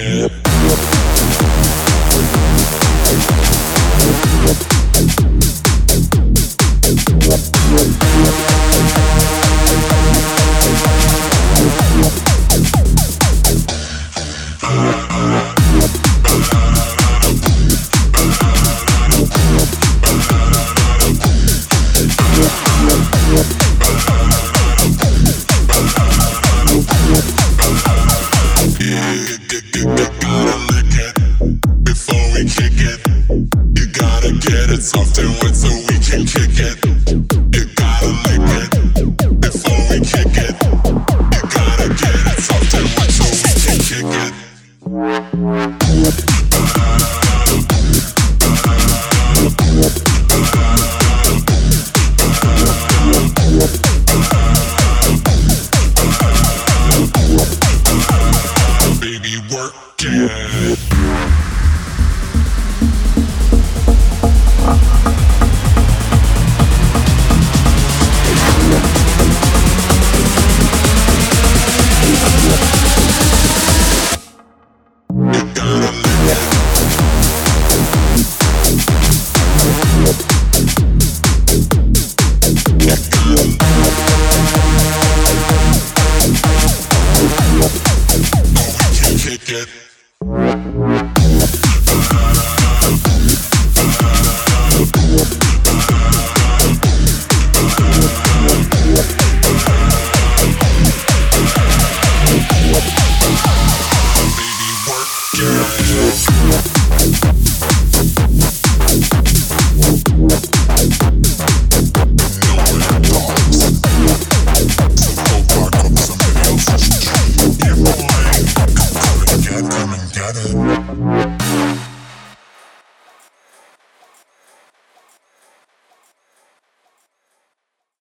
Soft and wet so we can kick it. You gotta lick it before we kick it. You gotta get it soft and wet so we can kick it. Baby, work it. Kick it.